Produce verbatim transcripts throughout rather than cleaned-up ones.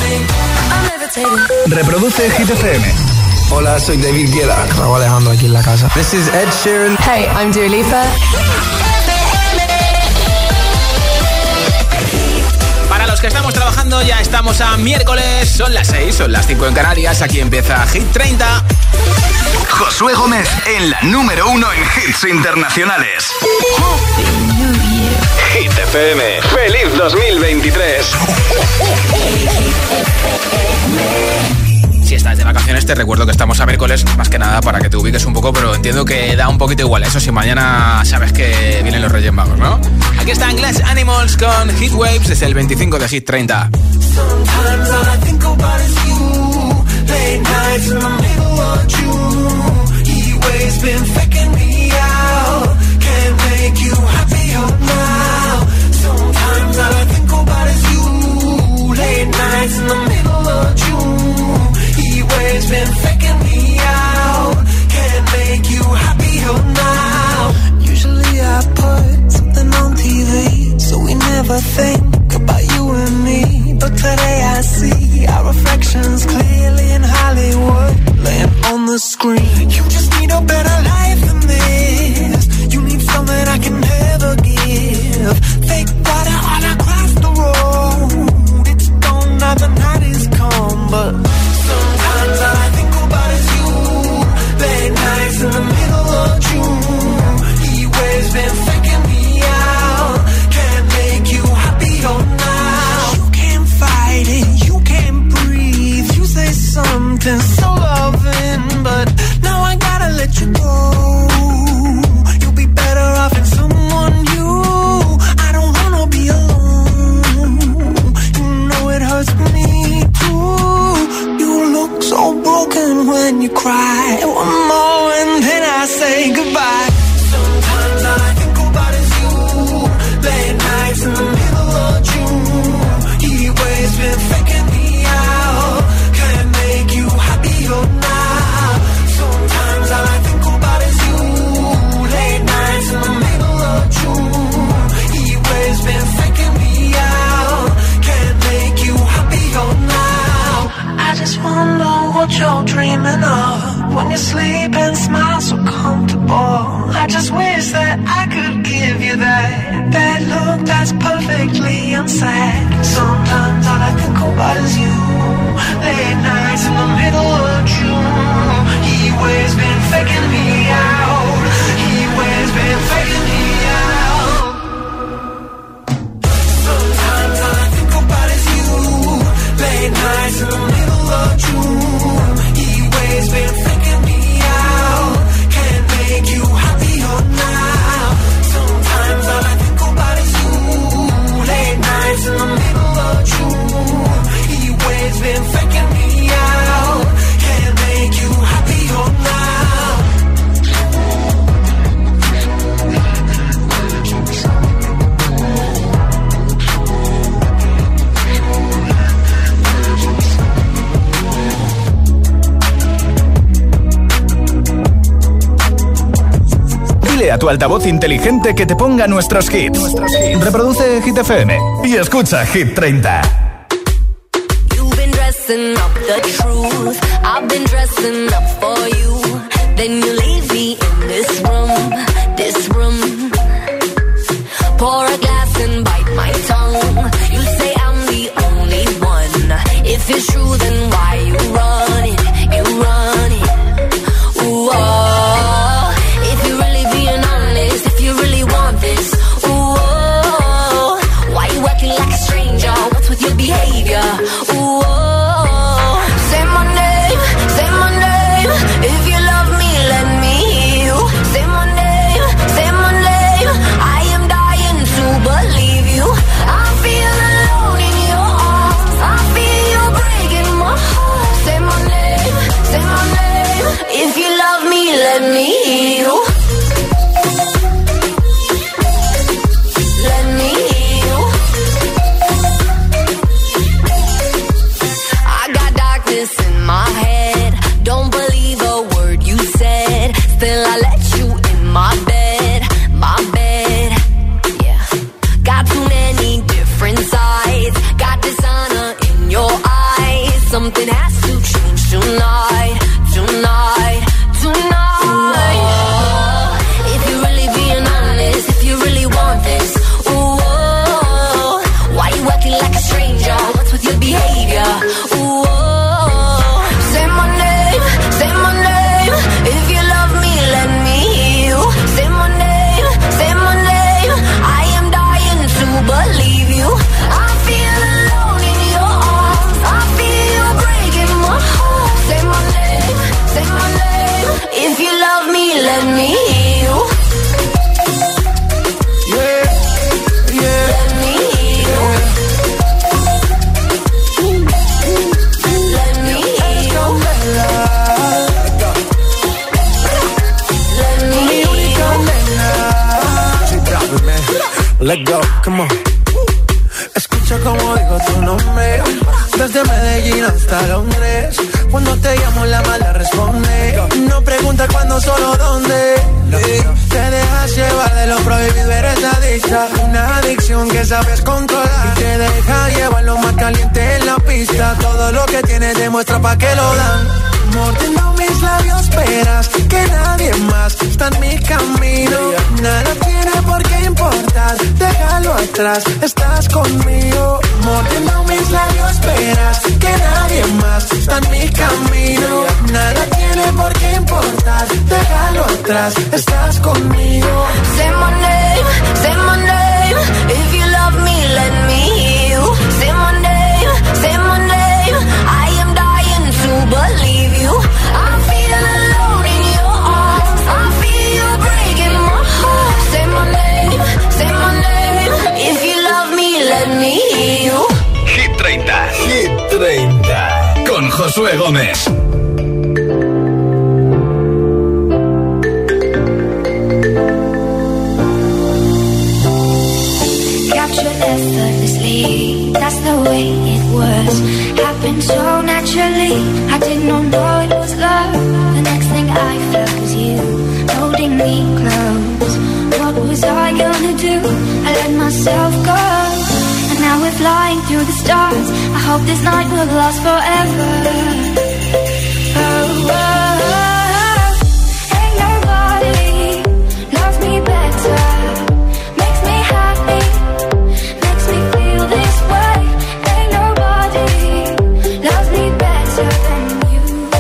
Reproduce Hit F M. Hola, soy David Guetta. Raúl Alejandro aquí en la casa. This is Ed Sheeran. Hey, I'm Dua Lipa. Para los que estamos trabajando, ya estamos a miércoles. Son las seis, son las cinco en Canarias. Aquí empieza Hit treinta. Josué Gómez en la número uno en hits internacionales. Hit F M. ¡Feliz dos mil veintitrés! Si estás de vacaciones, te recuerdo que estamos a miércoles, más que nada para que te ubiques un poco, pero entiendo que da un poquito igual. Eso si mañana sabes que vienen los Reyes Magos, ¿no? Aquí están Glass Animals con Heat Waves desde el veinticinco de Hit treinta. Sometimes all I think about is you. Late nights in the middle of June. Heat waves been faking me out. Can't make you happier now. Sometimes all I think about is you. Late nights in the middle of June. Heat waves been faking me out. Can't make you happier now. Usually I put something on T V, so we never think about you and me. But today I see our reflections clearly in Hollywood, laying on the screen. You just need a better life than this. You need something I can never give. Fake water all across the road. It's gone now, the night is come. But sometimes all I think about is you. Late nights in the middle of June. Heat waves been faking me out. Can't make you happier now. You can't fight it, you can't breathe. You say something so loving, but now I gotta let you go. You'll be better off in someone new. I don't wanna be alone. You know it hurts me too. You look so broken when you cry. One more and then I say goodbye. Sometimes all I think about is you. Late nights in the middle of June. Heat waves been faking me out. Can't make you happier now. Sometimes all I think about is you. Late nights in the middle of June. Heat waves been faking me out. Can't make you happier now. I just wonder what you're dreaming of when you sleep and smile so comfortable. I just wish that I could give you that that look that's perfectly unsaid. Sometimes all I think about is you. Late nights in the middle of June. Heat waves been faking me out. Heat waves been faking me out. Sometimes all I think about is you. Late nights in the middle of June. Heat waves been faking me out. Can't make you happier now. Sometimes all I think about is you. Late nights in the middle of June. Heat waves been faking me out. Can't make you happier now. Dile a tu altavoz inteligente que te ponga nuestros hits. Reproduce Hit F M y escucha Hit treinta. You've been dressing up the truth. I've been dressing up for you. Then you leave me in this room, this room. Pour a glass and bite my tongue. You say I'm the only one. If it's true, then why you run it? You run it. Ooh, oh. If you're really being honest, if you really want this, ooh, oh. Why you acting like a stranger? What's with your behavior? Ooh, oh. Say my name, say my name. If you love me, let me hear you. Say my name, say my name. I am dying to believe you. I feel alone in your arms. I feel you breaking my something has to change tonight, tonight, tonight. Ooh, if you're really being honest, if you really want this, ooh, why you acting like a stranger? What's with your behavior? Ooh, say my name, say my name. If you love me, let me hear you. Say my name, say my name. I am dying to believe you. I feel alone in your arms. I feel you breaking my heart. Say my name, say my name. If you love me, let me hear you. Yeah, yeah. Let me hear you. Let me hear you. Let me hear you. Let go, come on. Escucha como digo tu nombre. Desde Medellín hasta Londres. Cuando te llamo la mala responde. No pregunta cuándo, solo dónde. Te dejas llevar de lo prohibido, eres adicta. Una adicción que sabes controlar. Y te deja llevar lo más caliente en la pista. Todo lo que tienes demuestra pa' que lo dan. Mordiendo mis labios, esperas que nadie más está en mi camino. Nada tiene por qué importar, déjalo atrás, estás conmigo. Mordiendo mis labios, esperas que nadie más está en mi camino. Nada tiene por qué importar, déjalo atrás, estás conmigo. Say my name, say my name. If you love me, let me hear you. Say my name, say my name. I am dying to believe you. I feel alone in your arms. I feel you breaking my heart. Say my name, say my name. If you love me, let me hear you. Hit treinta. Hit treinta. Con Josué Gómez. Captured effortlessly, that's the way it was. Happened so naturally, I did not know it was love. The next thing I felt was you, holding me close. What was I gonna do? I let myself go. And now we're flying through the stars. I hope this night will last forever. Oh, oh, oh. Ain't nobody loves me better. Makes me happy, makes me feel this way. Ain't nobody loves me better than you.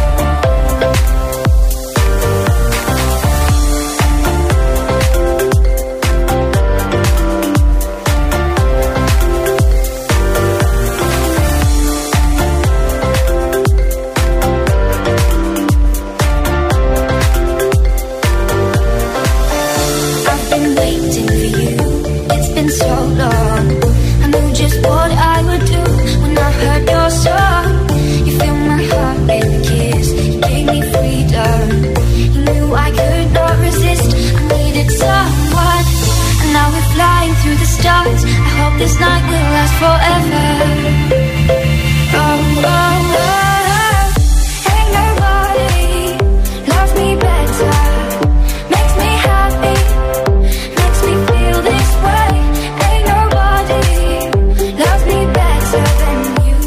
I've been waiting for you, it's been so long. I knew just what I would do when I heard your song. You filled my heart with a kiss, you gave me freedom. You knew I could not resist, I needed someone. And now we're flying through the stars. I hope this night will last forever. Oh, oh, oh. Ain't nobody loves me better. Makes me happy, makes me feel this way. Ain't nobody loves me better than you.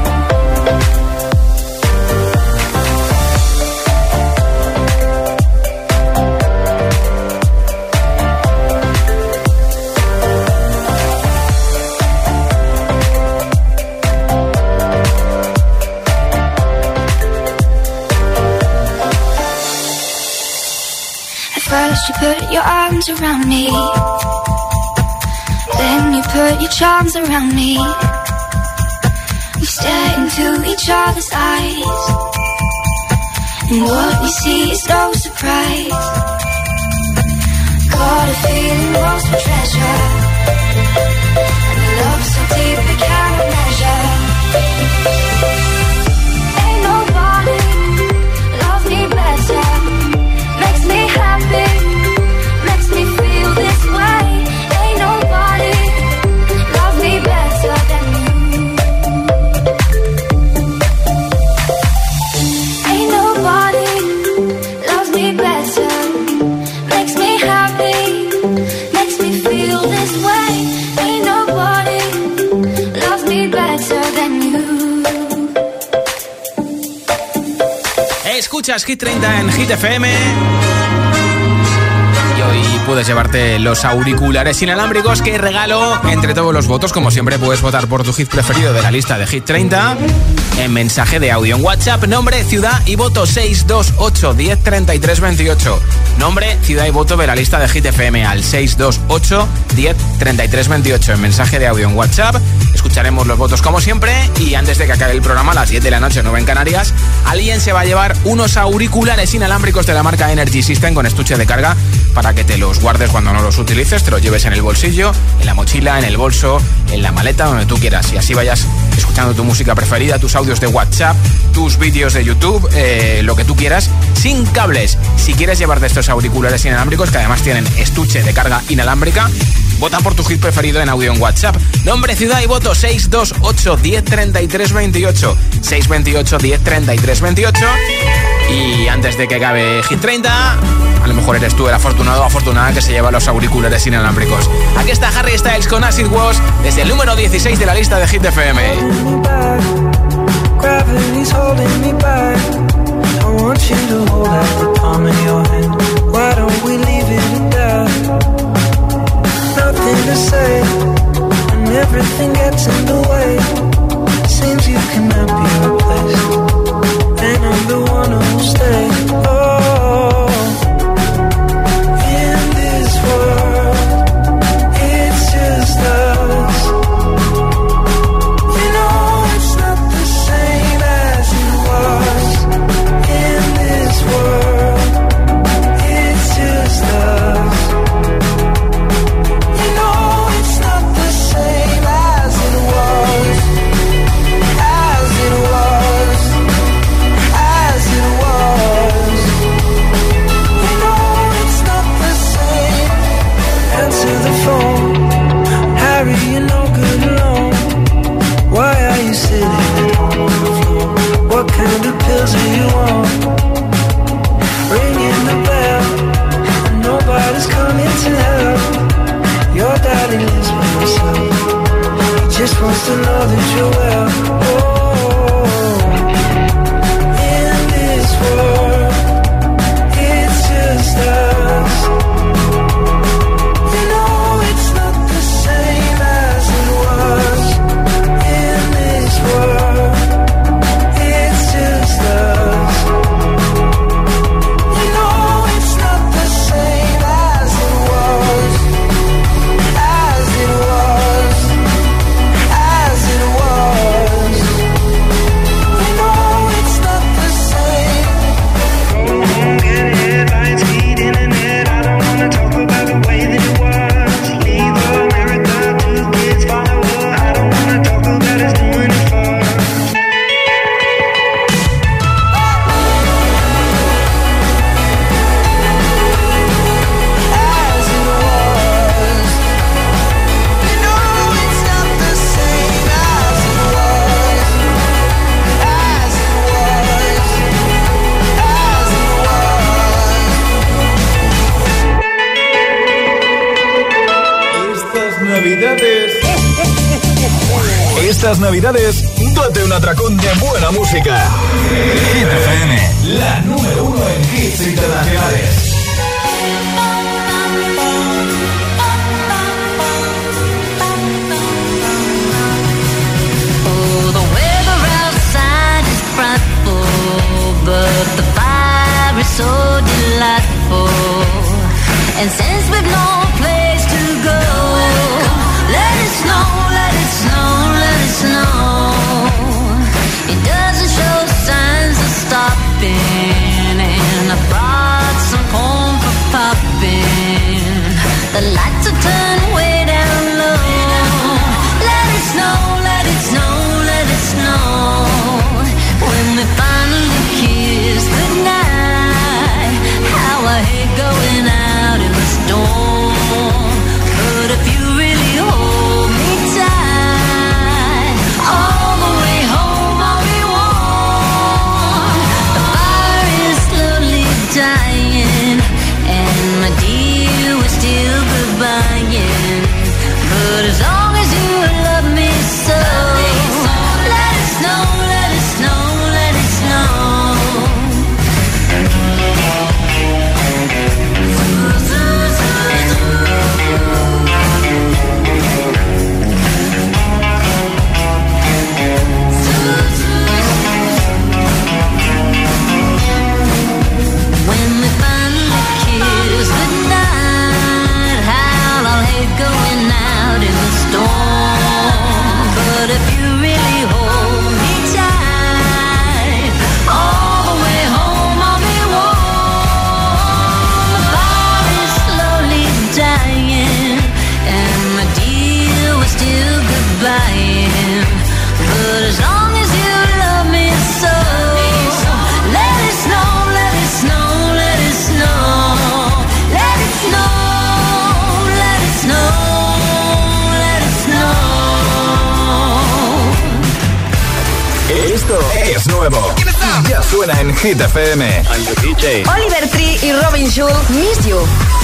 At first you put your arms around me, then you put your charms around me. We stare into each other's eyes, and what we see is no surprise. Got a feeling lost for treasure, and a love so deep we cannot measure. Ain't nobody loves me better. Makes me happy, makes me feel this way. Ain't nobody loves me better than you. Ain't nobody loves me better. Makes me happy, makes me feel this way. Ain't nobody escuchas Hit treinta en Hit F M. Y hoy puedes llevarte los auriculares inalámbricos que regalo entre todos los votos. Como siempre, puedes votar por tu hit preferido de la lista de Hit treinta en mensaje de audio en WhatsApp, nombre, ciudad y voto seis dos ocho, diez, treinta y tres, veintiocho. Nombre, ciudad y voto de la lista de Hit F M al seis dos ocho, diez, treinta y tres, veintiocho en mensaje de audio en WhatsApp. Escucharemos los votos como siempre y antes de que acabe el programa a las diez de la noche, nueve en Canarias, alguien se va a llevar unos auriculares inalámbricos de la marca Energy System con estuche de carga para que te los guardes cuando no los utilices, te los lleves en el bolsillo, en la mochila, en el bolso, en la maleta, donde tú quieras, y así vayas escuchando tu música preferida, tus audios de WhatsApp, tus vídeos de YouTube, eh, lo que tú quieras, sin cables. Si quieres llevarte estos auriculares inalámbricos, que además tienen estuche de carga inalámbrica, vota por tu hit preferido en audio en WhatsApp. Nombre, ciudad y voto seis dos ocho, diez, treinta y tres, veintiocho. seis dos ocho, diez, treinta y tres, veintiocho. Y antes de que acabe Hit treinta, a lo mejor eres tú el afortunado o afortunada que se lleva los auriculares inalámbricos. Aquí está Harry Styles con Acid Wash desde el número dieciséis de la lista de Hit F M. Gravity's holding me back. I want you to hold out the palm of your hand. Why don't we leave it at that? Nothing to say, and everything gets in the way. Seems you cannot be replaced, and I'm the one who'll stay. Oh, in this world, it's just us. You know it's not the same as it was. In this world, it's just us. You know it's not the same as it was. As it was. As it was. You know it's not the same. Answer the phone. Harry, you're no good alone. Why are you sitting at home on the floor? What kind of pills are you on? Ringing the bell, and nobody's coming to help. Your daddy lives by himself. He just wants to know that you're well. Oh, in this world, it's just us. You know it's not the same as it was. In this world, it's just us. You know it's not the same as it was. As it was. As it was. You know it's not the same. Go home, get headlines, feed internet. I don't wanna talk about the way that it was. Leave America, two kids, follow her. I don't wanna talk about us doing it for. As it was. You know it's not the same as it was. As it was. As it was. Estas navidades. Estas navidades, date un atracón de buena música. Hit F M, la número uno en hits internacionales. Oh, the weather outside is frightful, but the fire is so delightful. And since we've no place to go, let it snow, let it snow, let it snow. It doesn't show signs of stopping, and I brought some corn. Esto es nuevo. Ya suena en Hit F M. Oliver Tree y Robin Schulz, Miss You.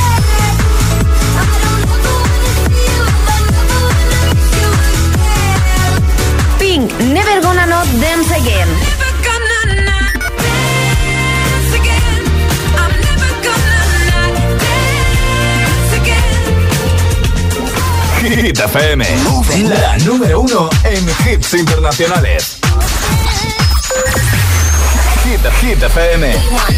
Pink, Never Gonna Not Dance Again. Hit F M, la número uno en hits internacionales. Hit, Hit F M.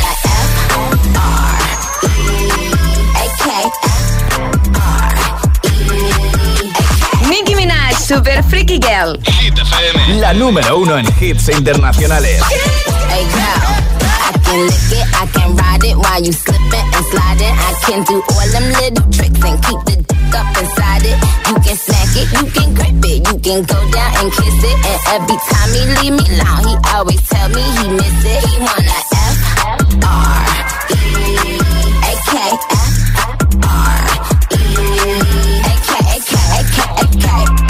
Nicki Minaj, Super Freaky Girl. Hit F M, la número uno en hits internacionales. Hey girl, I can lick it, I can ride it while you slipping and sliding. I can do all them little tricks and keep the dick up inside it. You can smack it, you can grip it, you can go down and kiss it. And every time he leave me alone, he always tell me he miss it. He wanna F R E A K F R E A K A K A K A K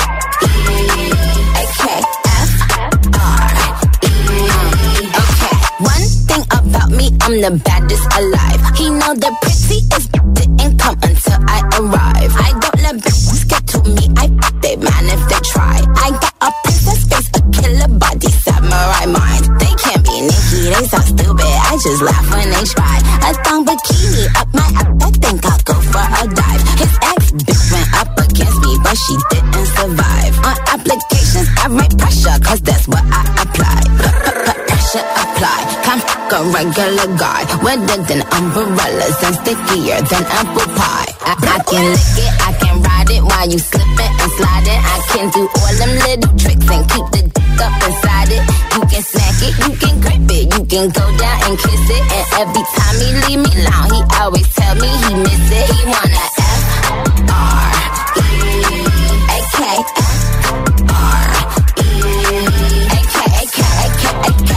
A K F R E. Okay, one thing about me, I'm the baddest alive. He know the prettiest didn't come until I arrive. I don't let bitches get to me, I fuck they man if they try. I got a princess face, a killer body, samurai mind. They can't be Nicki, they so stupid, I just laugh when they try. A thong bikini up my ass, I think I'll go for a dive. His ex bitch went up against me, but she didn't survive. On applications, I write pressure, cause that's what I apply. Pressure apply, can't fuck a regular guy. Wetter than umbrellas and stickier than apple pie. I, I can lick it, I can ride it while you slipping and sliding. I can do all them little tricks and keep the dick up inside it. You can smack it, you can grip it, you can go down and kiss it. And every time he leave me alone, he always tell me he miss it. He wanna F R E A K F R E A K A K A K A K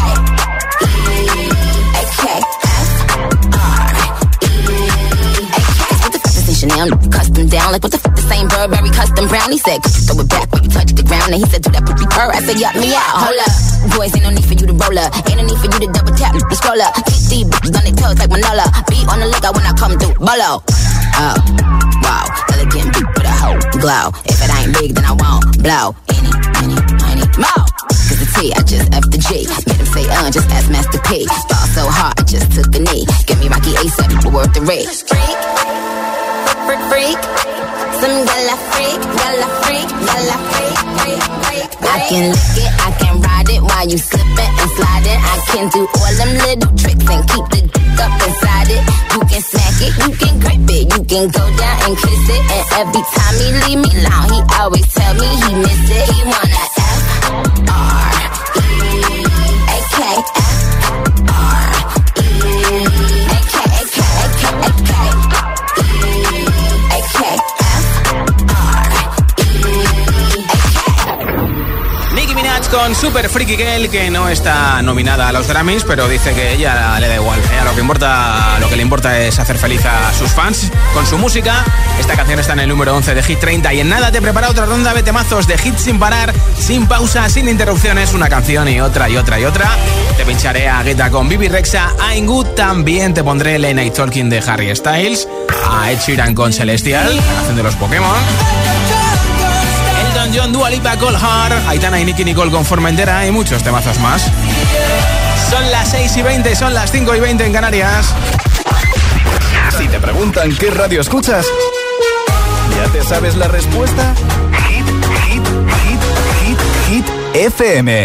A K F R E A K. What the fuck is this Chanel custom down? Like what the fuck the same Burberry custom brown? He said throw it back when you touch the ground. And he said do that poopy purr. I said yup me out. Hold up, boys ain't no need for you to roll up. Ain't no need for you to double tap the scroll up. Keep these bitches on their toes like Manola. Beat on the lookout when I come through. Bolo. Oh, wow, elegant beat with a hoe glow. If it ain't big, then I won't blow. Any, any, any more. Cause the T, I just F the G. Made him say, uh, just ask Master P. Fall so hard, I just took a knee. Get me Rocky ASAP, but worth the rate. Freak, freak, freak. Some gala freak, gala freak, gala freak, freak, freak. I can lick it, I can ride it while you slipping and sliding. I can do all them little tricks and keep the dick up inside it. You can smack it, you can grip it, you can go down and kiss it. And every time he leave me alone, he always tell me he miss it. He wanna F R E A K F R E A K A K A K A K A K F R E A K. Nicki Minaj con Super Freaky Girl, que no está nominada a los Grammys, pero dice que ella le da igual. Ella lo que importa, lo que le importa es hacer feliz a sus fans con su música. Esta canción está en el número once de Hit treinta y en nada te prepara otra ronda de temazos de hits sin parar, sin pausa, sin interrupciones, una canción y otra y otra y otra. Te pincharé a Guetta con Bibi Rexha, I'm Good, también te pondré Late Night Talking de Harry Styles, a Ed Sheeran con Celestial, la canción de los Pokémon. Elton John, Dua Lipa, Cold Heart, Aitana y Nicki Nicole con Formentera y muchos temazos más. Son las seis y veinte, son las cinco y veinte en Canarias. Si te preguntan qué radio escuchas, ¿ya te sabes la respuesta? Hit, hit, hit, hit, hit F M.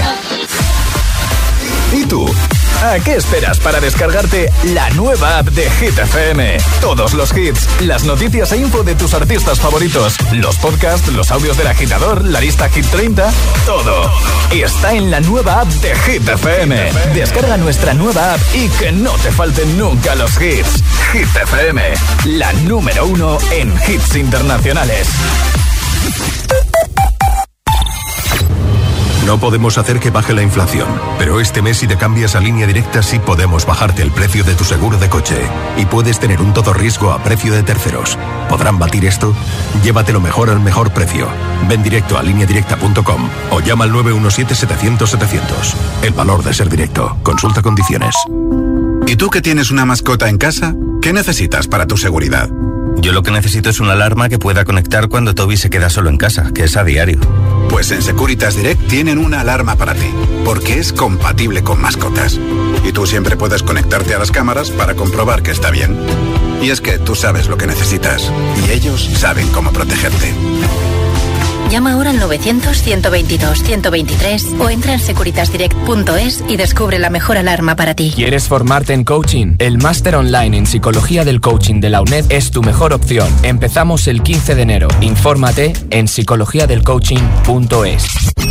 ¿Y tú? ¿A qué esperas para descargarte la nueva app de Hit F M? Todos los hits, las noticias e info de tus artistas favoritos, los podcasts, los audios del agitador, la lista Hit treinta, todo. Está en la nueva app de Hit F M. Descarga nuestra nueva app y que no te falten nunca los hits. Hit F M, la número uno en hits internacionales. No podemos hacer que baje la inflación, pero este mes si te cambias a Línea Directa sí podemos bajarte el precio de tu seguro de coche y puedes tener un todo riesgo a precio de terceros. ¿Podrán batir esto? Llévatelo mejor al mejor precio. Ven directo a línea directa punto com o llama al nueve uno siete setecientos setecientos. El valor de ser directo. Consulta condiciones. ¿Y tú que tienes una mascota en casa? ¿Qué necesitas para tu seguridad? Yo lo que necesito es una alarma que pueda conectar cuando Toby se queda solo en casa, que es a diario. Pues en Securitas Direct tienen una alarma para ti, porque es compatible con mascotas. Y tú siempre puedes conectarte a las cámaras para comprobar que está bien. Y es que tú sabes lo que necesitas, y ellos saben cómo protegerte. Llama ahora al novecientos, ciento veintidós, ciento veintitrés o entra en securitas direct punto es y descubre la mejor alarma para ti. ¿Quieres formarte en coaching? El máster online en Psicología del Coaching de la U N E D es tu mejor opción. Empezamos el quince de enero. Infórmate en psicología del coaching punto es.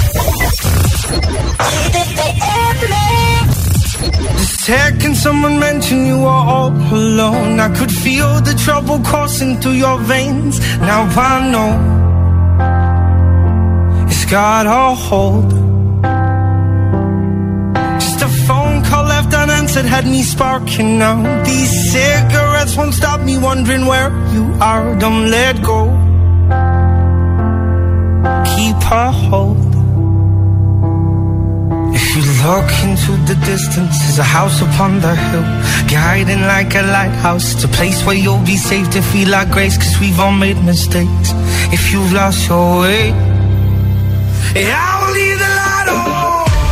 Can someone mention you are all alone? I could feel the trouble coursing through your veins. Now I know it's got a hold. Just a phone call left unanswered had me sparking now. These cigarettes won't stop me wondering where you are. Don't let go. Keep a hold. If you look into the distance, there's a house upon the hill, guiding like a lighthouse. It's a place where you'll be safe to feel like grace, cause we've all made mistakes. If you've lost your way, yeah, I will leave the light on.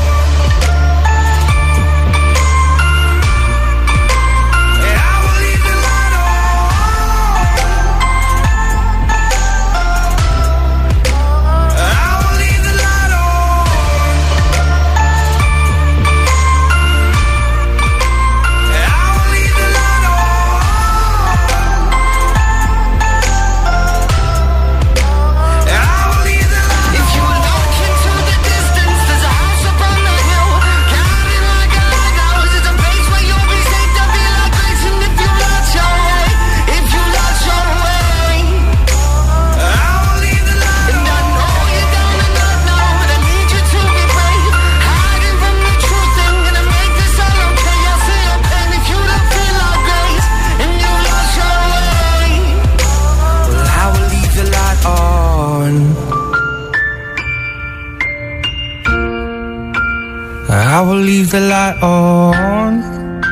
I will leave the light on.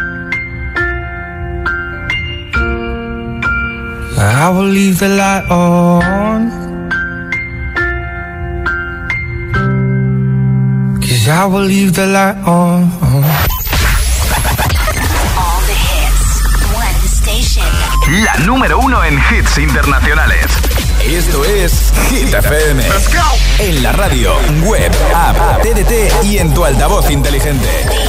I will leave the light on. 'Cause I will leave the light on. All the hits, one station. La número uno en hits internacionales. Esto es Hit F M. Let's go. En la radio, web, app, T D T y en tu altavoz inteligente.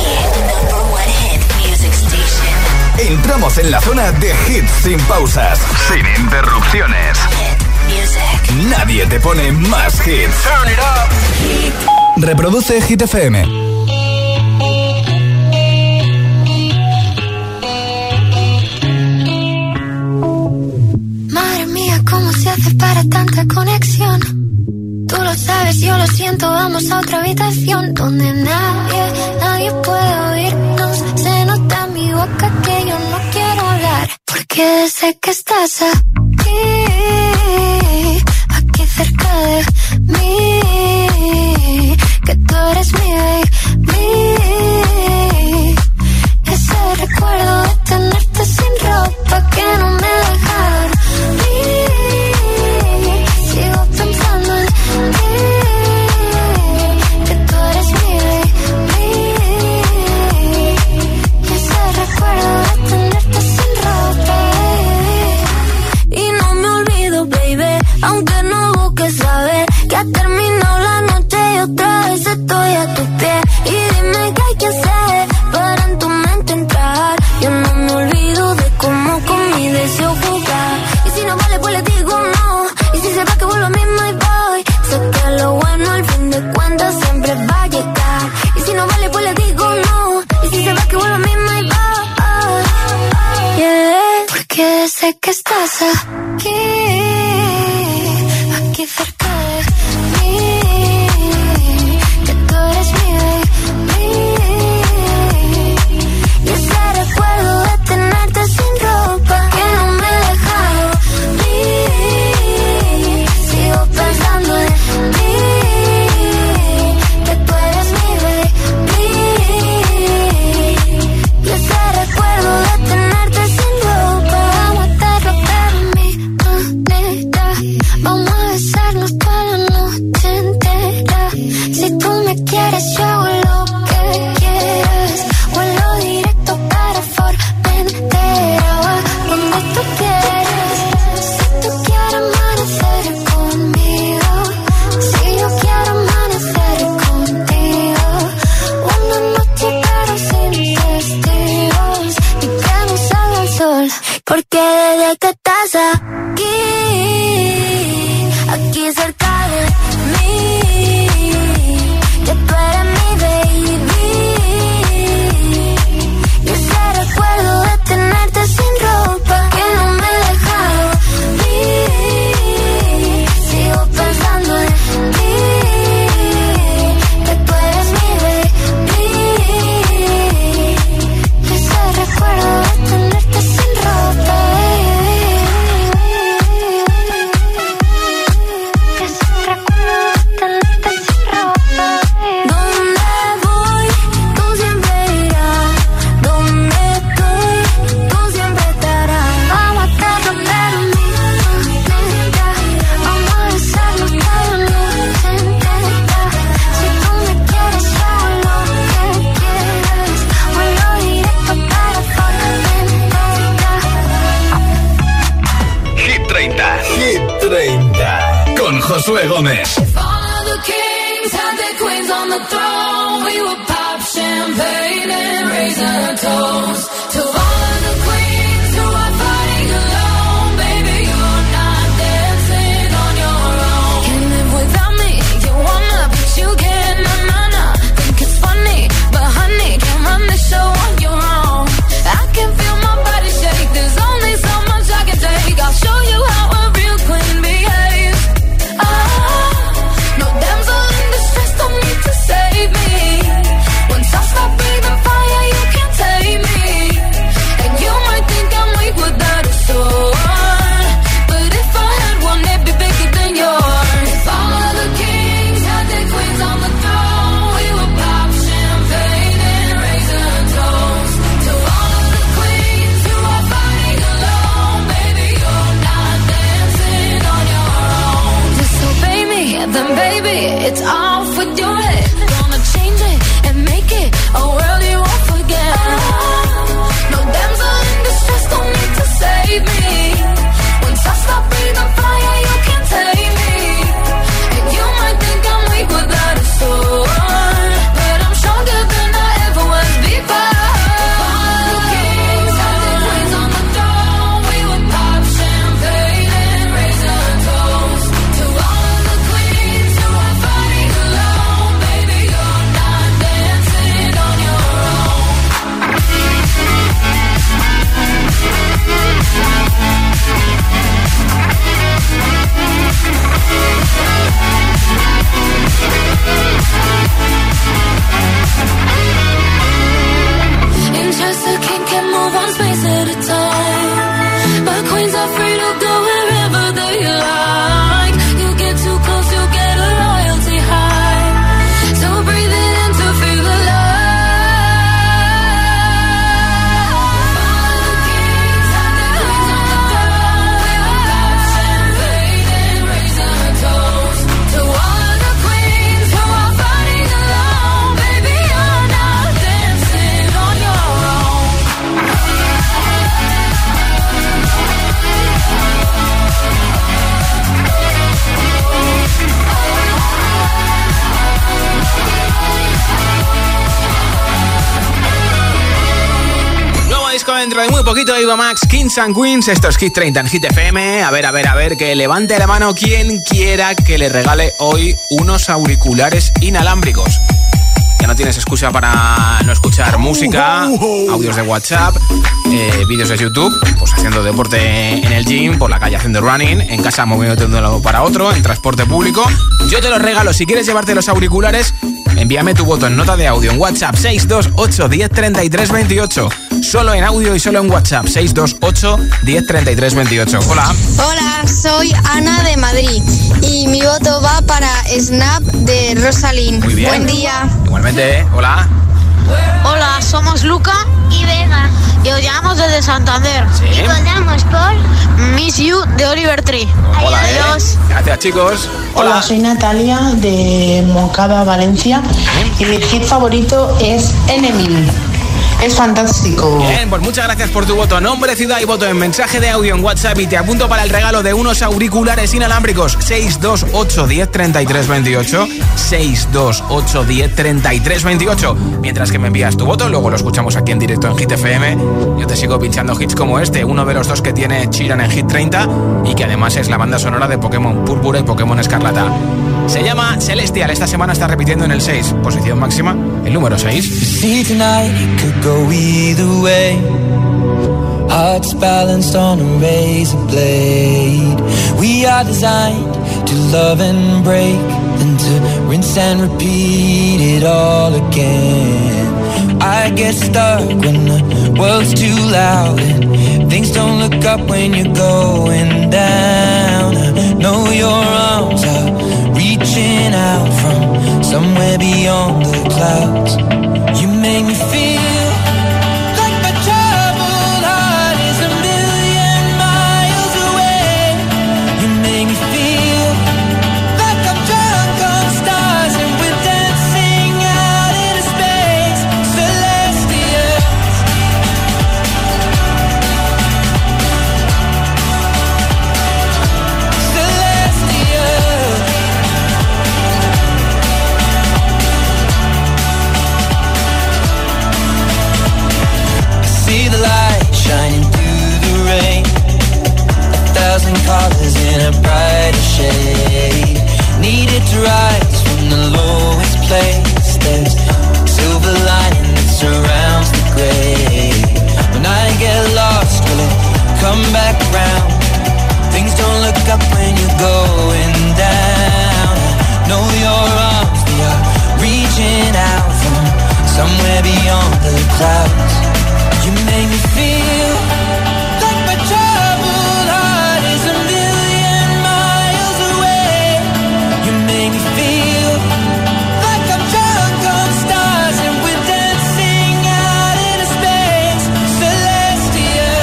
Entramos en la zona de hits sin pausas, sin interrupciones. Nadie te pone más hits. Turn it up. Reproduce Hit F M. Madre mía, ¿cómo se hace para tanta conexión? Tú lo sabes, yo lo siento, vamos a otra habitación donde nadie, nadie puede oírnos. Se nota en mi boca que yo no quiero hablar, porque sé que estás aquí, aquí cerca de mí, que tú eres mi baby. Ese recuerdo de tenerte sin ropa que no me deja dormir. Sigo pensando en ti, que tú eres mi baby. Ese recuerdo de tenerte sin ropa, baby. Y no me olvido, baby, aunque no busques saber que ha terminado la noche y otra vez estoy a tus pies. Y dime qué hay que hacer para en tu mente entrar. Yo no me olvido de cómo con mi deseo jugar. Y si no vale, pues le digo no. Y si se va, que vuelvo a mí, my boy. Sé que lo bueno al fin de cuentas siempre va a llegar. Y si no vale, pues le digo no. Y si se va, que vuelvo a mí, my boy. Yeah. Porque sé que estás aquí, aquí cerca de mí, que tú sé que estás aquí, aquí cerca de mí, que tú eres mi baby. Y ese recuerdo de tenerte sin ropa que no me he dejado ir. Sigo pensando en ti, que tú eres mi baby. Y ese recuerdo de tenerte sin ropa. Con Josué Gómez. If all the kings had their queens on the throne, we would pop champagne and raise a toast to all the queens who are fighting alone. Baby, you're not dancing on your own. Can't live without me, you wanna, but you can't, nah, nah, nah. Think it's funny, but honey, can't run the show on your own. I can feel my body shake, there's only so much I can take. I'll show you how a real queen behaves. No damsel in distress, don't need to save me. Once I stop breathing fire, you can't tame me. And you might think I'm weak without a sword, but if I had one, it'd be bigger than yours. If all of the kings had their queens on the throne, we would pop champagne and raise a toast to all of the queens who are fighting alone. Baby, you're not dancing on your own. Disobey me, then baby, it's off with your head. Gonna change it and make it a world you won't forget. No damsel in distress, don't need to save me. Once I stop breathing fire, you can't take me. And you might think I'm weak without a sword, but I'm stronger than I ever was before. All the kings had their queens on the throne, we would pop champagne and raise a toast to all the queens who are fighting alone. Baby, you're not dancing on your own. In Chester King can move one space at a time, but queens are free to go wherever they like. You get too close, you get a royalty high. So breathe it in to feel alive. All the kings had their queens on the throne, we would pop champagne and raise a toast to all the queens who are fighting alone. Baby, you're not dancing on your own. Nuevo disco dentro de muy poquito, Eva Max, Kings and Queens. Esto es Hit treinta en Hit F M. A ver, a ver, a ver, que levante la mano quien quiera que le regale hoy unos auriculares inalámbricos. Ya no tienes excusa para no escuchar música, audios de WhatsApp, eh, vídeos de YouTube, pues haciendo deporte en el gym, por la calle haciendo running, en casa moviéndote de un lado para otro, en transporte público. Yo te los regalo. Si quieres llevarte los auriculares, envíame tu voto en nota de audio en WhatsApp seis dos ocho, diez, treinta y tres, veintiocho. Solo en audio y solo en WhatsApp seis dos ocho, diez, treinta y tres, veintiocho. Hola. Hola, soy Ana de Madrid y mi voto va para Snap de Rosalind. Muy bien. Buen día. Igualmente, ¿eh? Hola. Hola, somos Luca Y Vega. y os llamamos desde Santander. Sí. Y votamos por Miss You de Oliver Tree. Hola, ¿eh? Adiós. Gracias, chicos. Hola, Hola. soy Natalia de Moncada, Valencia, y mi hit favorito es Enemy. Es fantástico. Bien, pues muchas gracias por tu voto. Nombre, ciudad y voto en mensaje de audio en WhatsApp y te apunto para el regalo de unos auriculares inalámbricos. seis dos ocho, diez, treinta y tres, veintiocho. seis dos ocho, diez, treinta y tres, veintiocho. Mientras que me envías tu voto, luego lo escuchamos aquí en directo en Hit F M. Yo te sigo pinchando hits como este, uno de los dos que tiene Sheeran en Hit treinta y que además es la banda sonora de Pokémon Púrpura y Pokémon Escarlata. Se llama Celestial, esta semana está repitiendo en el seis, posición máxima, el número seis. See tonight, it could go either way. Hearts balanced on a razor blade. We are designed to love and break, then to rinse and repeat it all again. I get stuck when the world's too loud and things don't look up when you're going down. I know your arms are reaching out from somewhere beyond the clouds. You make me feel like my troubled heart is a million miles away. You make me feel like I'm drunk on stars and we're dancing out into space. Celestial. Celestial. See the light shining through the rain. A thousand colors in a brighter shade. Needed to rise from the lowest place. There's a silver lining that surrounds the gray. When I get lost, will it come back round? Things don't look up when you're going down. I know your arms, they are reaching out from somewhere beyond the clouds. You make me feel like my troubled heart is a million miles away. You make me feel like I'm drunk on stars and we're dancing out into space. Celestial.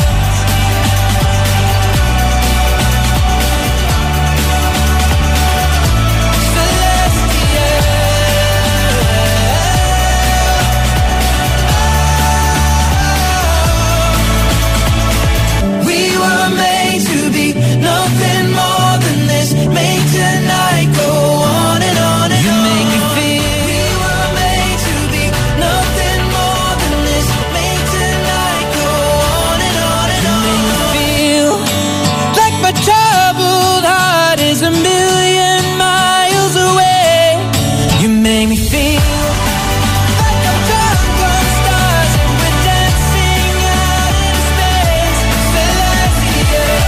We were made to be nothing more than this. Made tonight go on and on and you on. You make me feel. We were made to be nothing more than this. Made tonight go on and on and on. You make me feel like my troubled heart is a million miles away. You make me feel. Like I'm drunk on stars and we're dancing out in space. Celestial.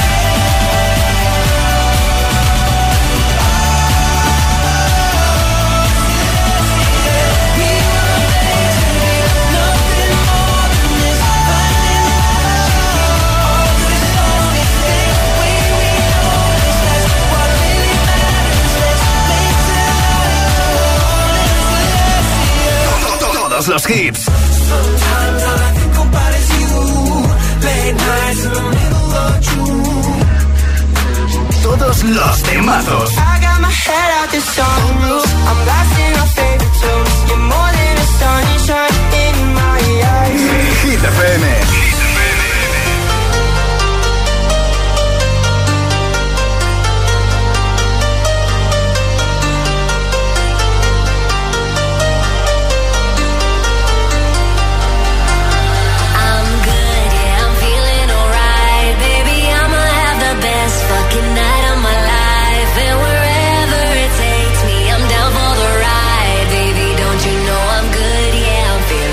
We were made to be nothing more than this. Finding all this lonely thing. We we know this. That's what really matters. Let's make tonight go on and celestial. Todos los hits, Sometimes all I think about is you. Late nights in the middle of June. todos los temazos. I got my head out the sunroof. I'm blasting our favorite tunes. You're more than a sunshine in my eyes. Hit F M. Feel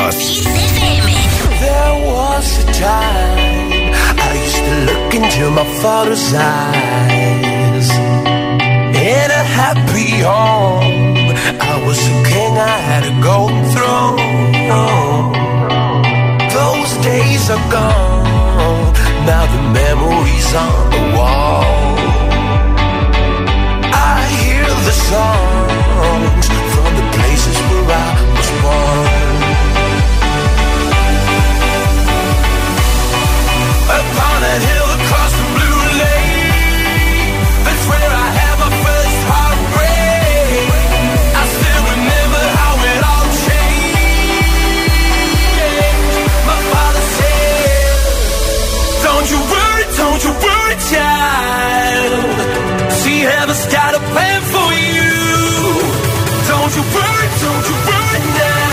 Ánimos. There was a time I used to look into my father's eyes. In a happy home, I was a king, I had a golden throne. Those days are gone, now the memories on the wall. I hear the songs from the places where I was born. Upon a hill across the blue lake, that's where I had my first heartbreak. I still remember how it all changed. My father said, don't you worry, don't you worry, child. See, heaven's got a plan for you. Don't you worry, don't you worry now.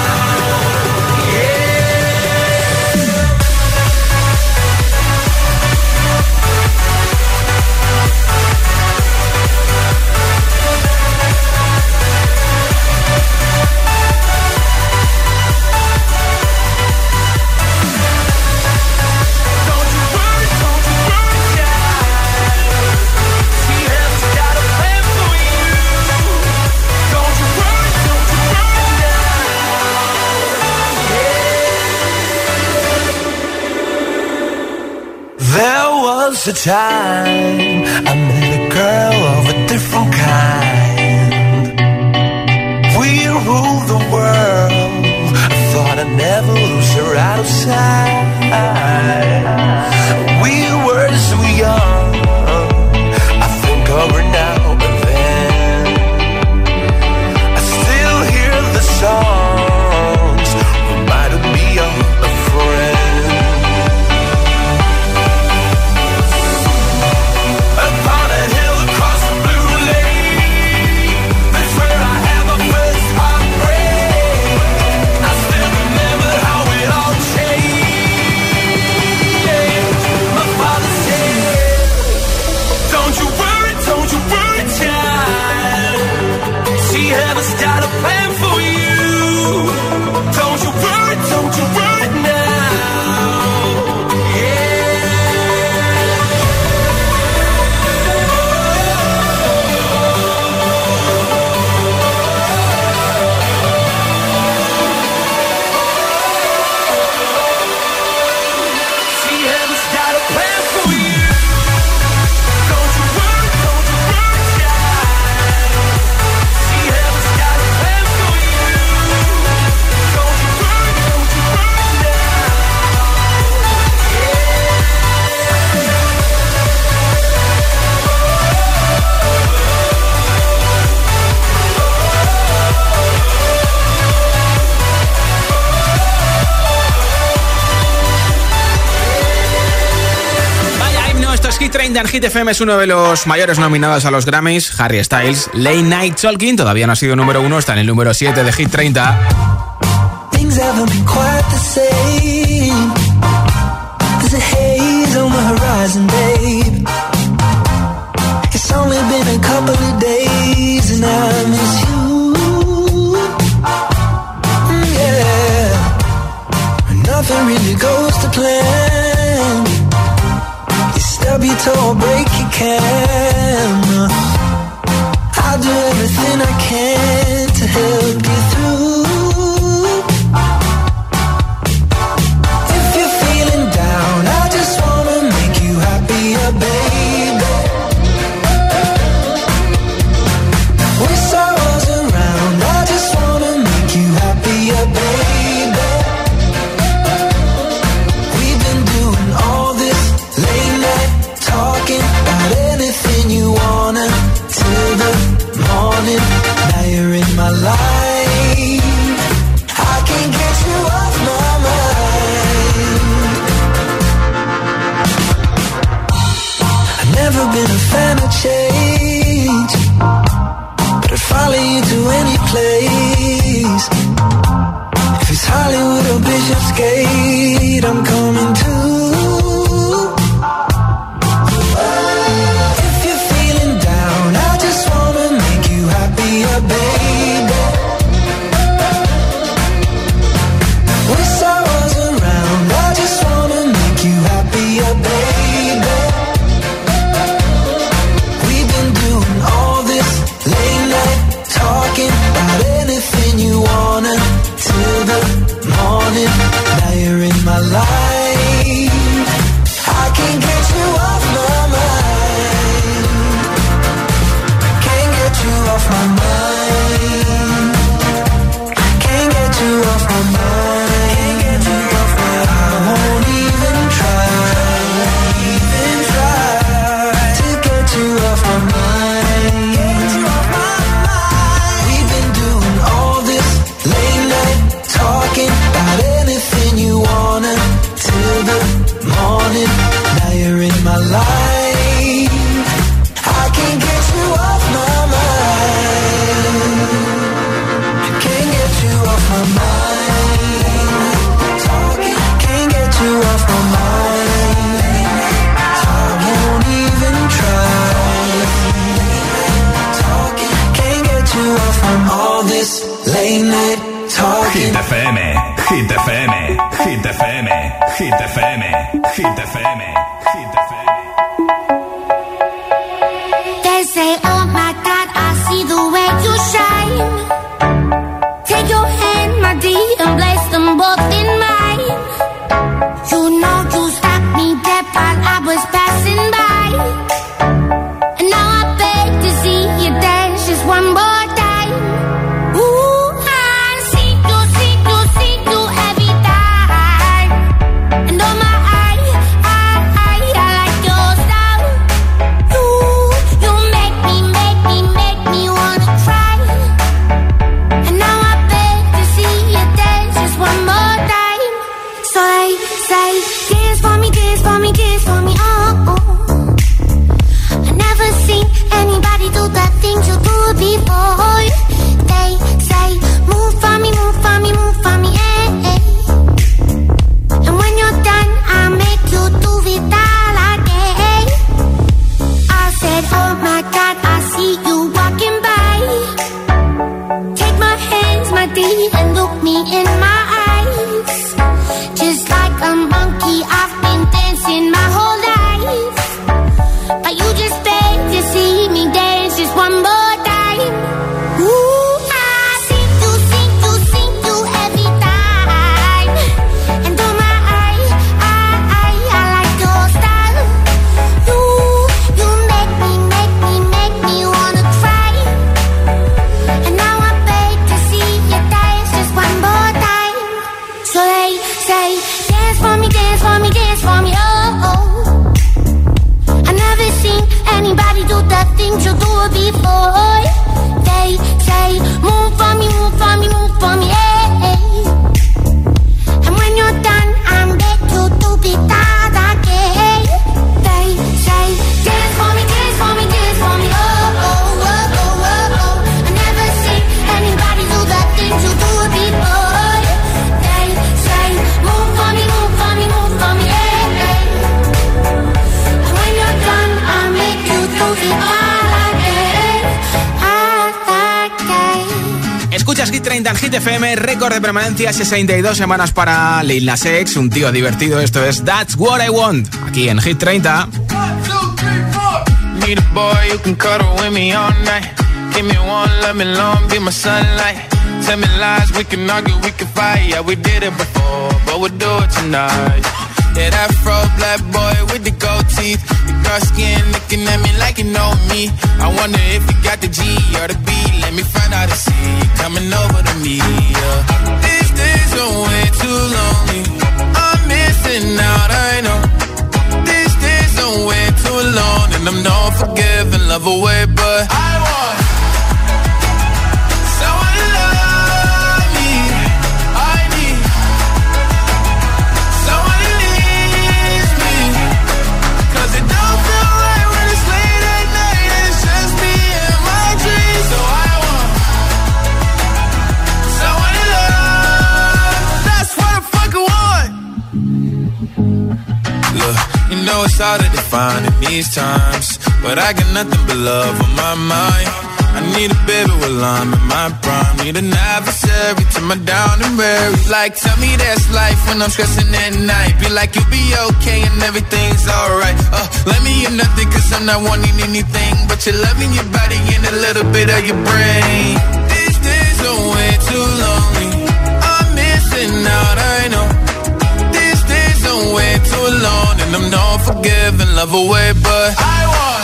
A time I met a girl of a different kind. We ruled the world. I thought I'd never lose her out of sight. We were so young. I think of her now and then. I still hear the songs reminding me of a friend. treinta en Hit F M es uno de los mayores nominados a los Grammys. Harry Styles, Late Night Talking, todavía no ha sido número uno, está en el número siete de Hit treinta. Things haven't been quite the same. There's a haze on the horizon, babe. It's only been a couple of days and I miss you. Yeah. Nothing really goes to plan. Stub your toe, break your can. I'll do everything I can to help you through. If you're feeling down, I just wanna make you happier, baby. Wish I was around, I just wanna make you happier, baby. We've been doing all this late night talking about anything you wanna till the morning. Now you're in my life. I can't get you off my mind. I've never been a fan of change, but I'd follow you to any place. If it's Hollywood or Bishopsgate, I'm coming too. Baby, can't get you off my mind. Can't get you off my mind. Can't get you off my mind. Can't get you off my mind. I won't even try, even try to get you off my mind. Get you off my mind. We've been doing all this late night talking about anything you wanna till the morning. Now you're in my life. I can't get you off my mind. Can't get you off my mind. Talking, can't get you off my mind. I won't even try. Talking, can't get you off from all this late night talking. Hit F M, Hit F M, Hit F M, Hit F M, Hit F M, Hit F M. They say, oh my God, I see the way you shine. Take your hand, my dear, and place them both in mine. You know you stopped me dead while I was passing by. And now I beg to see you dance just one more time. Ooh, I see you, see you, see you every time. And oh my, I, I, I, I like your style. You, you make me, make me, make me wanna cry. And now I beg to see you dance just one more time. So they say, dance for me, dance for me, dance for me, oh, oh. I never seen anybody do the things you do before. They say, move for me, move for me, move for me, eh, eh. And when you're done, I'll make you do it all again. I said, oh my God, I see you walking by. Take my hands, my dear, and look me in my eyes. Just like a monkey, I've been dancing my whole life. But you just beg to see me dance just one more time. Ooh, I see you, see you, see you every time. And oh my, I, I, I, I like your style. You, you make me, make me, make me wanna cry. And now I beg to see you dance just one more time. So they say, dance for me, dance for me, dance for me, oh, oh. I never seen anybody do the things you do before. They say, move for me, move for me, move for me, eh, eh. And when you're done, I'm back to do it all again. They say, dance for me, dance for me, dance for me, oh, oh, oh, oh, oh, oh. I never seen anybody do the things you do before. They say, move for me, move for me, move for me, eh, eh. And when you're done, I'll make you do it all again, all again. Escuchas Hit treinta en Hit F M, récord de permanencia, sesenta y dos semanas para Lil Nas X, un tío divertido. Esto es That's What I Want, aquí en Hit treinta. Need a boy who can cuddle with me all night. Give me one, let me long, be my sunlight. Tell me lies, we can argue, we can fight. Yeah, we did it before, but we'll do it tonight. Yeah, that fro black boy with the gold teeth. The dark skin looking at me like you know me. I wonder if you got the G or the B. Let me find out and see you coming over to me. Yeah. These days are way too lonely. I'm missing out, I know. These days are way too long, and I'm not forgiving, love away, but I want someone to love me. I need someone who needs me. 'Cause it don't feel right when it's late at night and it's just me and my dreams. So I want someone to love. That's what I fucking want. Look, you know it's hard to define in these times, but I got nothing but love on my mind. I need a baby while I'm in my prime. Need an adversary to my down and weary. Like, tell me that's life when I'm stressing at night. Be like, you'll be okay and everything's alright. Uh, let me in nothing 'cause I'm not wanting anything but your loving, your body, and a little bit of your brain. These days are way too lonely. I'm missing out, I know. These days are way too long, and I'm not forgetting. love away, but I want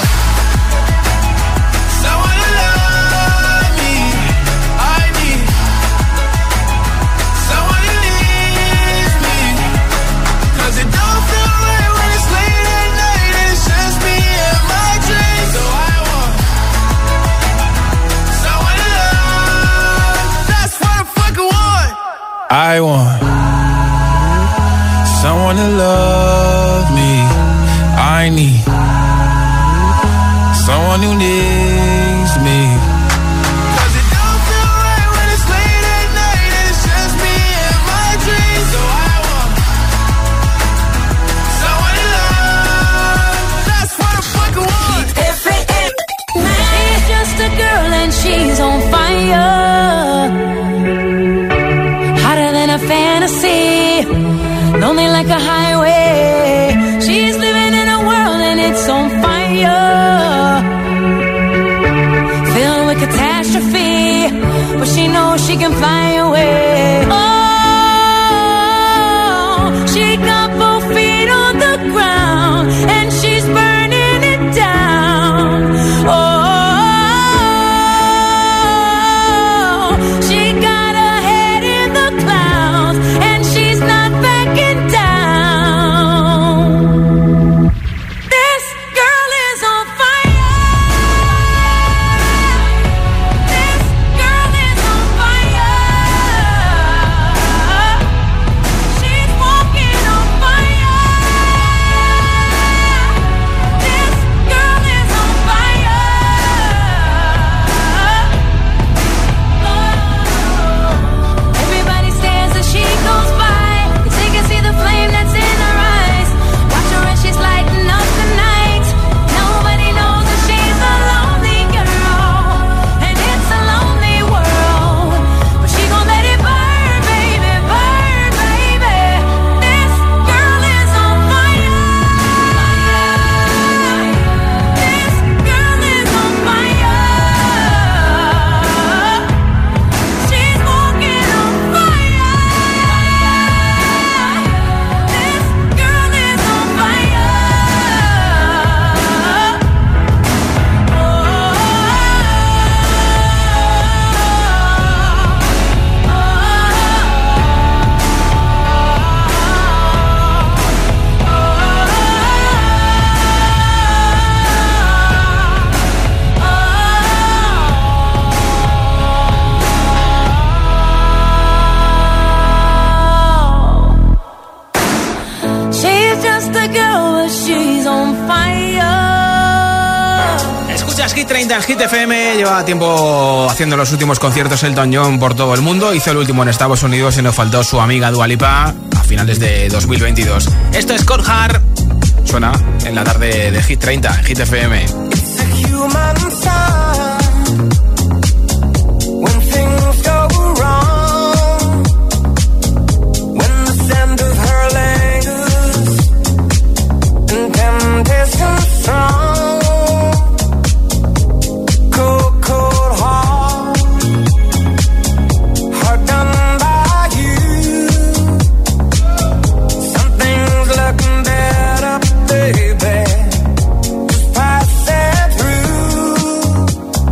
someone to love me. I need someone who needs me. Cause it don't feel right when it's late at night and it's just me and my dreams. So I want someone to love. That's what I fucking want. I want someone to love me. I need someone who needs me. Cause it don't feel right when it's late at night and it's just me and my dreams. So I want someone to love. That's what I fucking want. She's just a girl and she's on fire, hotter than a fantasy, lonely like a highway. She's living in a world and it's on fire, filled with catastrophe, but she knows she can fly away. Oh, she got both feet on the ground and she's burning it down. Oh, she got her head in the clouds and she's not backing down. This girl is on fire. This girl is on fire. She's walking on fire. This girl is on fire. Everybody stares as she goes by, 'cause they can see the flame that's in her eyes. Watch her as she's lighting up the night. Nobody knows that she's a lonely girl, and it's a lonely world. But she gon' let it burn, baby, burn, baby. This girl is on fire. This girl is on fire. She's walking on fire. This girl is on fire. She's just a girl, but she's on fire. Escuchas Hit treinta en Hit F M. Lleva tiempo haciendo los últimos conciertos Elton John por todo el mundo. Hizo el último en Estados Unidos y nos faltó su amiga Dua Lipa a finales de dos mil veintidós. Esto es Cold Heart. Suena en la tarde de Hit treinta en Hit F M. Human sign when things go wrong, when the scent of her lingers and temptation strong, cold, cold heart, heart done by you. Something's looking better, baby. Just pass it through.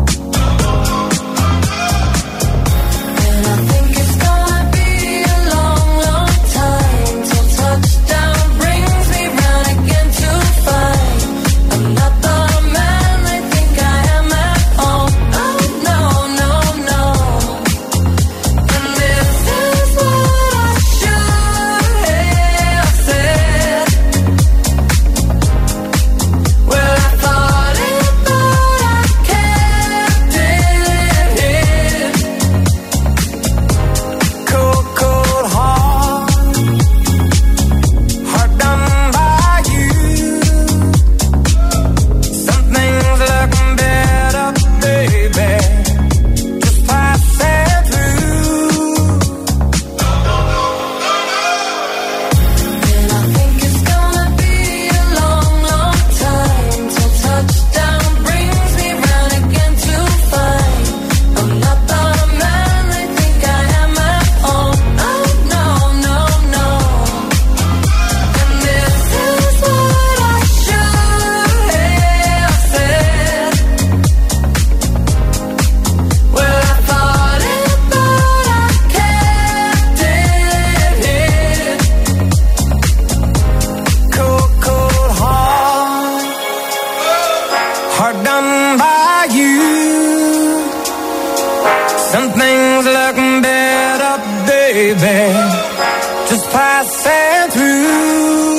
baby, just passing through.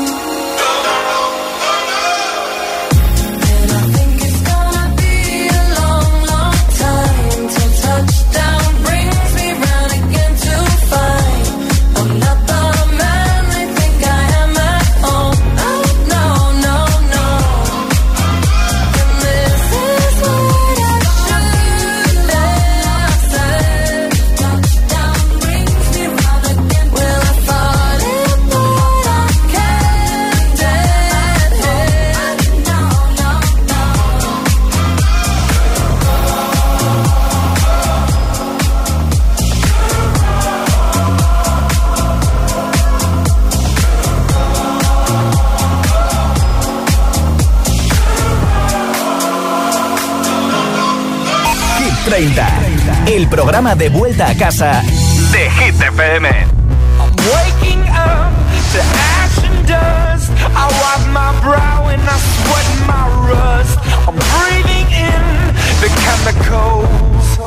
treinta, el programa de vuelta a casa de Hit F M. I'm waking up to ash and dust. I wipe my brow and I sweat my rust. I'm breathing in the chemicals.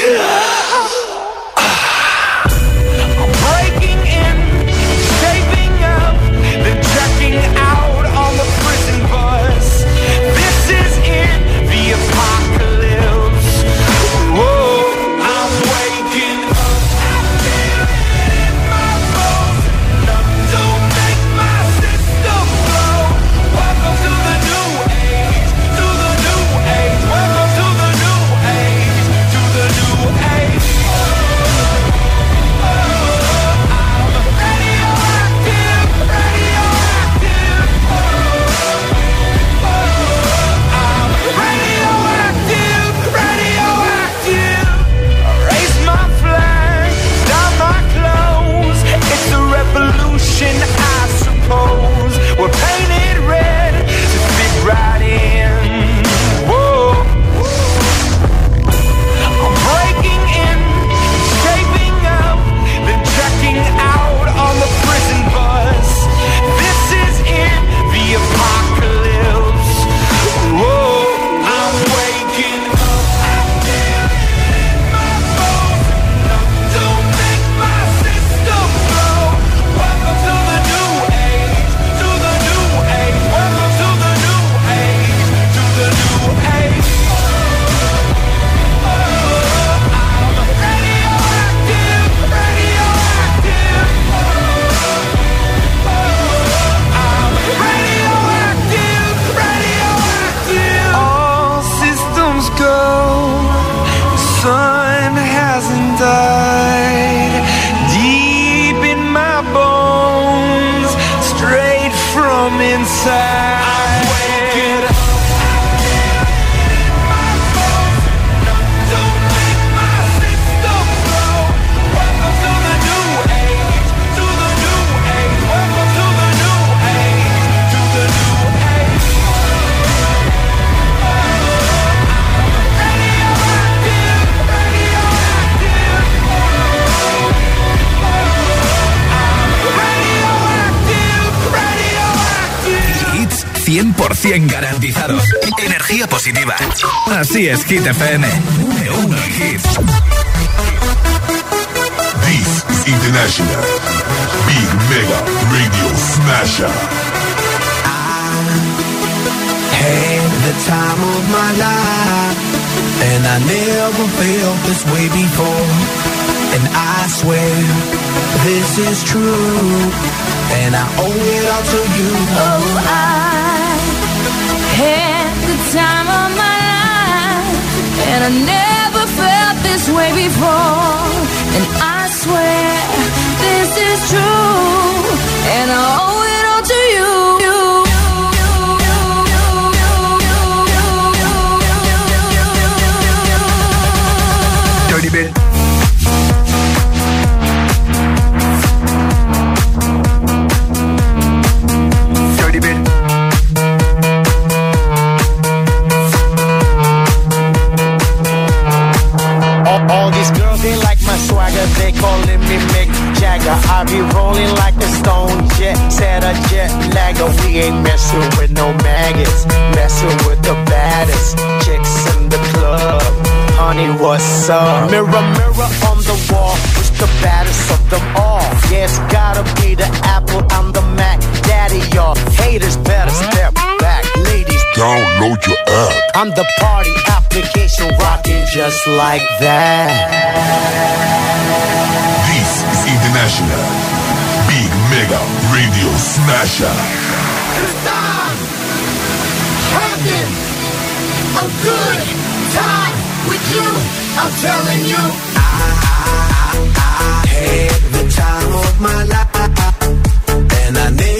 I'm breaking in, shaping up, then checking out on the prison bus. This is it, the apocalypse. Whoa, I'm waking up, I feel it in my bones. Enough to make my system blow. Welcome to the new age, to the new age. Welcome to the new age, to the new age. Oh, I'm radioactive, radioactive. Oh, I'm radioactive, radioactive. Raise my flag, down my clothes. It's a revolution, I suppose. We're painted red to fit right in. Whoa. I'm breaking in, shaping up, then checking out on the prison bus. This is it, the apocalypse. Whoa, I'm waking up, I feel it in my bones. Enough to make my system blow. Welcome to the new age, to the new age. Welcome to the new age, to the new age. Oh, I'm radioactive, radioactive. Oh, I'm radioactive, radioactive. All systems go. The sun hasn't died. Deep in my bones, straight from inside. I'm waking up. Hits cien por ciento garantizados. Energía positiva. Así es, Hit F M. Número uno en hits. This is International Big Mega Radio Smasher. Had the time of my life, and I never felt this way before. And I swear this is true, and I owe it all to you. Oh, I had the time of my life, and I never felt this way before. And I swear this is true, and I owe it all to you. Dirty bit. Dirty bit. All, all these girls, they like my swagger. They calling me Mick Jagger. I be rolling like a stone jet, set a jet lagger. We ain't messing with no maggots, messing with the baddest chicks in the club. Honey, what's up? Mirror, mirror on the wall, which the baddest of them all. Yeah, it's gotta be the Apple, I'm the Mac. Daddy, y'all haters better step back. Ladies, download your app. I'm the party application rocking just like that. This is International Big Mega Radio Smasher. Cause I'm having a good time with you. I'm telling you, I, I, I had the time of my life, and I never